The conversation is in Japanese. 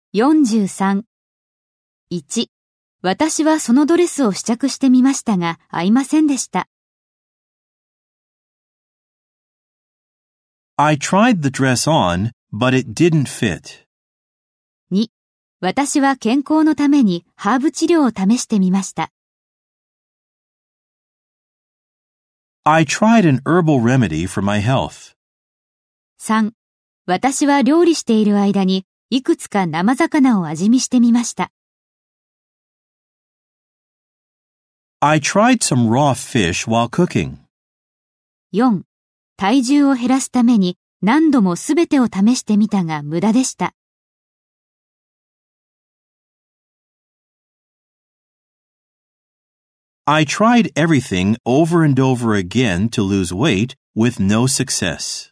43。1、私はそのドレスを試着してみましたが、合いませんでした。 I tried the dress on, but it didn't fit. 2、私は健康のためにハーブ治療を試してみました。 I tried an herbal remedy for my health. 3、私は料理している間にいくつか生魚を味見してみました。 I tried some raw fish while cooking. 4、体重を減らすために何度もすべてを試してみたが無駄でした。 I tried everything over and over again to lose weight with no success.